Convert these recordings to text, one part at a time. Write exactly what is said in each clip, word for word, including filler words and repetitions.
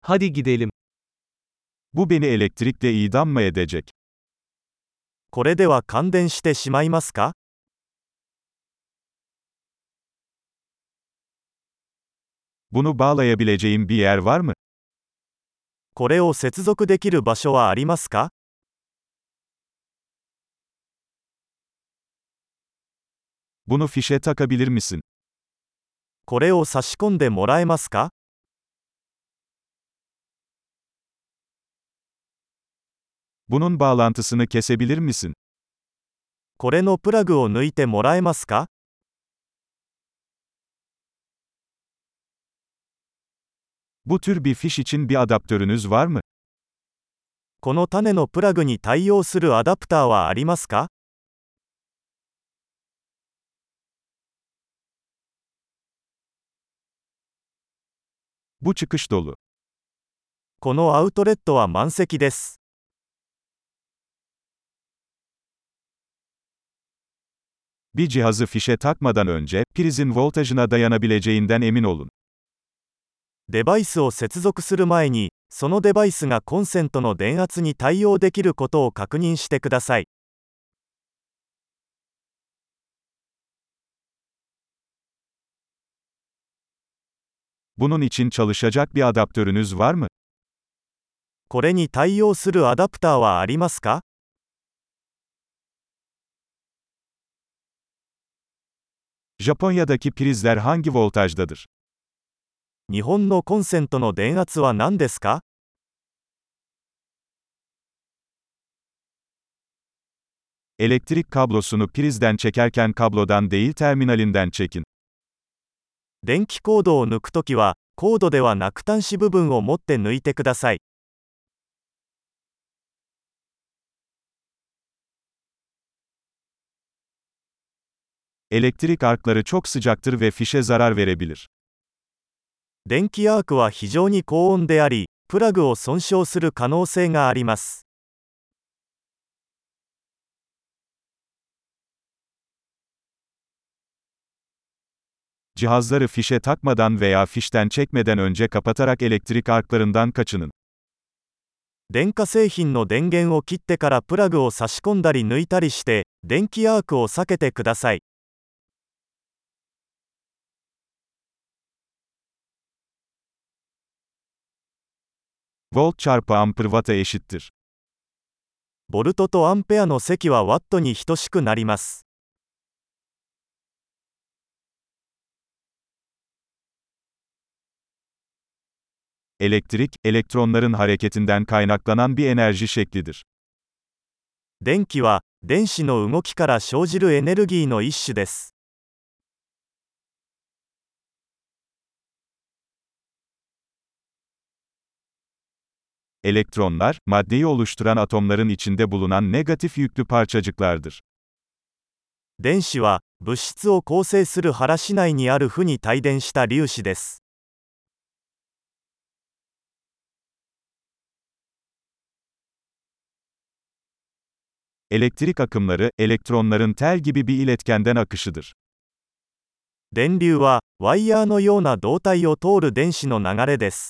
Hadi gidelim. Bu beni elektrikle idam mı edecek? これでは感電してしまいますか？ Bunu bağlayabileceğim bir yer var mı? これを接続できる場所はありますか？ Bunu fişe takabilir misin? これを差し込んでもらえますか？ Bunun bağlantısını kesebilir misin? これのプラグを抜いてもらえますか？ Bu tür bir fiş için bir adaptörünüz var mı? この種のプラグに対応するアダプターはありますか？ Bu çıkış dolu. このアウトレットは満席です。 Bir cihazı fişe takmadan önce, prizin voltajına dayanabileceğinden emin olun. デバイスを接続する前に、そのデバイスがコンセントの電圧に対応できることを確認してください。 Bunun için çalışacak bir adaptörünüz var mı? これに対応するアダプターはありますか？ Japonya'daki prizler hangi voltajdadır? 日本のコンセントの電圧は何ですか？ Elektrik kablosunu prizden çekerken kablodan değil terminalinden çekin. 電気コードを抜くときは、コードではなく端子部分を持って抜いてください。 Elektrik arkları çok sıcaktır ve fişe zarar verebilir. 電気アークは非常に高温であり、プラグを損傷する可能性があります。 Cihazları fişe takmadan veya fişten çekmeden önce kapatarak elektrik arklarından kaçının. 電化製品の電源を切ってからプラグを差し込んだり抜いたりして、電気アークを避けてください。 Volt çarpı amper watt'a eşittir. ボルトとアンペアの積はワットに等しくなります。 Elektrik, elektronların hareketinden kaynaklanan bir enerji şeklidir. 電気は、電子の動きから生じるエネルギーの一種です。 Elektronlar, maddeyi oluşturan atomların içinde bulunan negatif yüklü parçacıklardır. 電子は、物質を構成する原子内にある負に帯電した粒子です。 Elektrik akımları, elektronların tel gibi bir iletkenden akışıdır. 電流は、ワイヤーのような導体を通る電子の流れです。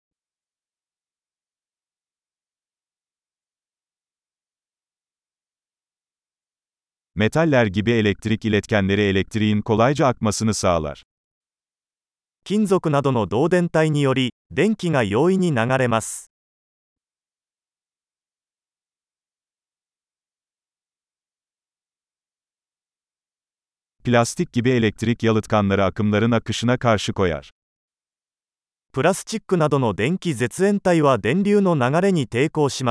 Metaller gibi elektrik iletkenleri elektriğin kolayca akmasını sağlar. 金属などの導電体により、電気が容易に流れます。 Plastik gibi elektrik yalıtkanları akımların akışına karşı koyar. プラスチックなどの電気絶縁体は電流の流れに抵抗します。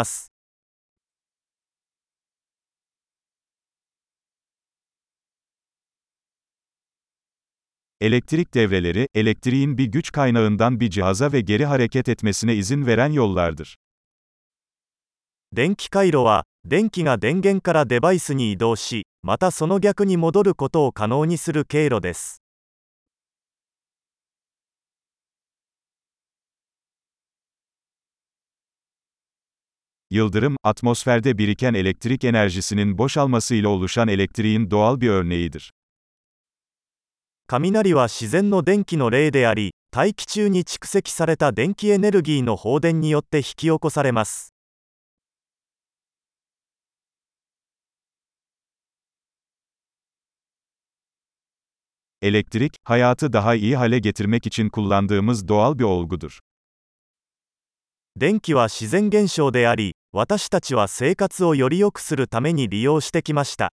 Elektrik devreleri, elektriğin bir güç kaynağından bir cihaza ve geri hareket etmesine izin veren yollardır. 電気回路は、電気が電源からデバイスに移動し、またその逆に戻ることを可能にする経路です。 Yıldırım, atmosferde biriken elektrik enerjisinin boşalmasıyla oluşan elektriğin doğal bir örneğidir. 雷は自然の電気の例であり、 大気中に蓄積された電気エネルギーの放電によって引き起こされます。 Elektrik, hayatı daha iyi hale getirmek için kullandığımız doğal bir olgudur. 電気は自然現象であり、私たちは生活をより良くするために利用してきました。